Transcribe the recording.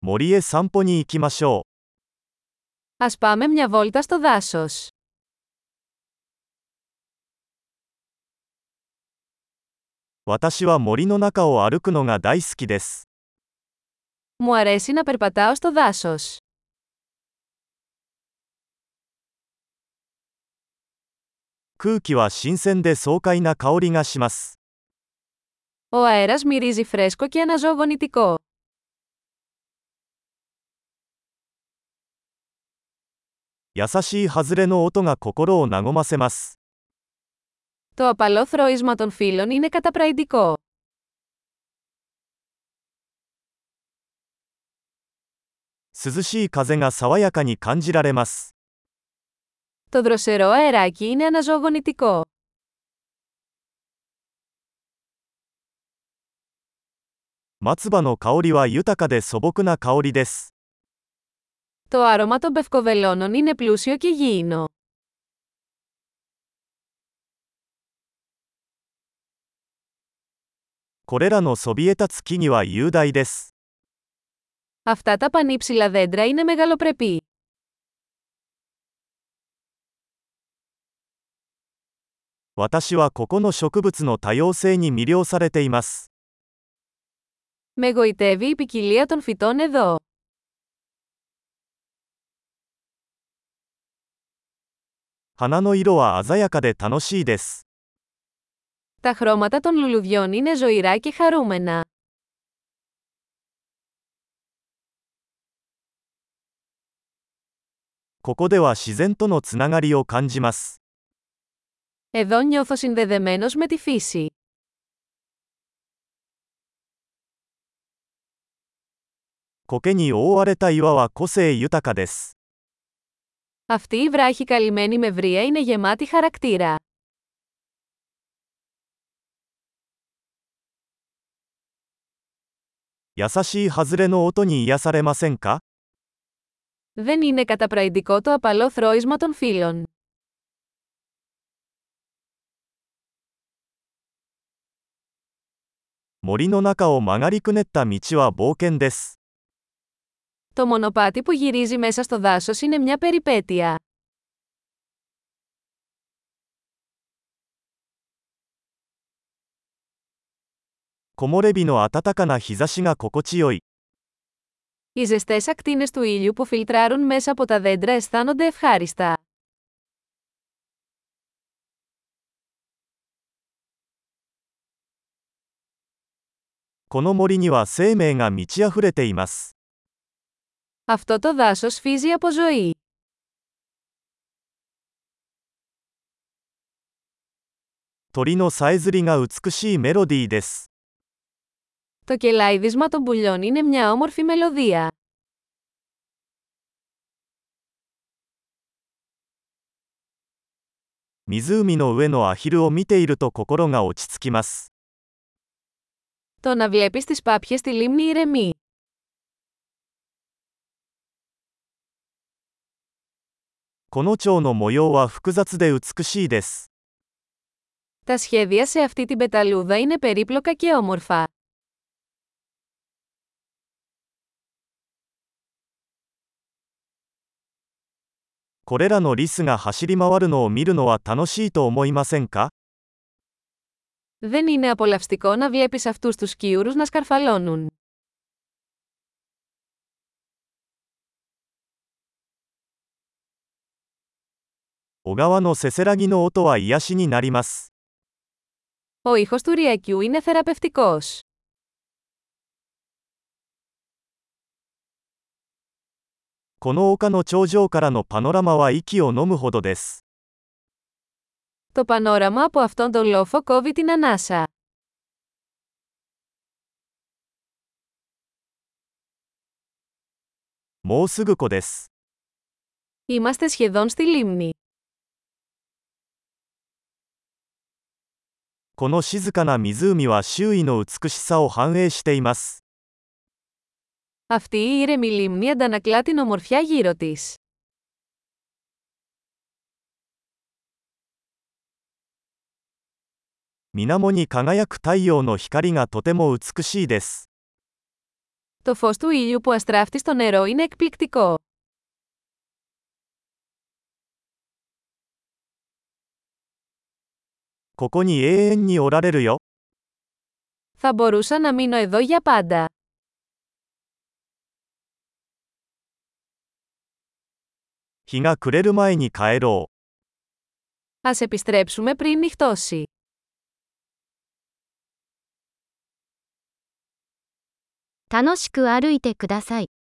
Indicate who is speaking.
Speaker 1: 森へ散歩に行きましょ
Speaker 2: Ας πάμε μια βόλτα στο δάσος.
Speaker 1: う。私は森の中を歩くのが大好きです。
Speaker 2: Μου αρέσει να περπατάω στο δάσος.
Speaker 1: 空気は新鮮で爽快な香りがします。
Speaker 2: Ο αέρας μυρίζει φρέσκο και αναζωογονητικό.
Speaker 1: 優しい外れの音が心を和ませます。
Speaker 2: Το απαλό θρώισμα των φύλλων είναι καταπραϊντικό.
Speaker 1: 涼しい風が爽やかに感じられます。
Speaker 2: Το δροσερό αεράκι είναι αναζωογονητικό.
Speaker 1: 松葉の香りは豊かで素朴な香りです。
Speaker 2: Το άρωμα των πευκοβελώνων είναι πλούσιο και γήινο.
Speaker 1: これらのそびえ立つ木々は雄大です。
Speaker 2: Αυτά τα πανύψηλα δέντρα είναι μεγαλοπρεπή.
Speaker 1: 私はここの植物の多様性に魅了されています。
Speaker 2: Με γοητεύει η ποικιλία των φυτών εδώ.
Speaker 1: 花の色は鮮やかで楽しいです。
Speaker 2: Τα χρώματα των λουλουδιών είναι ζωηρά και χαρούμενα.
Speaker 1: ここでは自然とのつながりを感じます。
Speaker 2: Εδώ νιώθω συνδεδεμένος με τη φύση.
Speaker 1: 苔に覆われた岩は個性豊かです。
Speaker 2: Αυτή η βράχη καλυμμένη με βρύα είναι γεμάτη χαρακτήρα.
Speaker 1: 優しい外れの音に癒されませんか？
Speaker 2: Δεν είναι καταπραϊντικό το απαλό θρώισμα των φύλλων.
Speaker 1: 森の中を曲がりくねった道は冒険です。
Speaker 2: Το μονοπάτι που γυρίζει μέσα στο δάσος είναι μια περιπέτεια.
Speaker 1: 木漏れ日の暖かな日差しが心地よい。
Speaker 2: Οι ζεστές ακτίνες του ήλιου που φιλτράρουν μέσα από τα δέντρα αισθάνονται ευχάριστα.
Speaker 1: この森には生命が満ち溢れています。
Speaker 2: Αυτό το δάσος φύζει από ζωή.
Speaker 1: 鳥のさえずりが美しいメロディーです。
Speaker 2: Το κελάιδισμα των πουλιών είναι μια όμορφη μελωδία.
Speaker 1: 湖の上のアヒルを見ていると心が落ち着きます。
Speaker 2: Το να βλέπεις τις πάπιες στη λίμνη ηρεμεί.
Speaker 1: この蝶の模様は複雑で美しいです。
Speaker 2: Τα σχέδια σε αυτή την πεταλούδα είναι περίπλοκα και όμορφα.
Speaker 1: これらのリスが走り回るのを見るのは楽しいと思いませんか？
Speaker 2: Δεν είναι απολαυστικό να βλέπεις αυτούς τους σκιούρους να σκαρφαλώνουν.
Speaker 1: 小川のせせらぎの音は癒しになります。
Speaker 2: Ο ήχος του ρυακιού είναι θεραπευτικός.
Speaker 1: この丘の頂上からのパノラマは息を飲むほどです。
Speaker 2: Το πανόραμα από αυτόν τον λόφο κόβει την ανάσα.
Speaker 1: もうすぐ湖です。
Speaker 2: Είμαστε σχεδόν στη λίμνη.
Speaker 1: この静かな湖は周囲の美しさを反映しています。
Speaker 2: Αυτή η ήρεμη λίμνη αντανακλά την ομορφιά γύρω της.
Speaker 1: 水面に輝く太陽の光がとても美しいです。
Speaker 2: Το φως του ήλιου που αστράφτει στο νερό είναι εκπληκτικό.
Speaker 1: ここに永遠におられるよ。
Speaker 2: Θα μπορούσα να μείνω εδώ για πάντα.
Speaker 1: 日が暮れる前に帰ろう。
Speaker 2: Ας επιστρέψουμε πριν νυχτώσει.
Speaker 3: 楽しく歩いてください。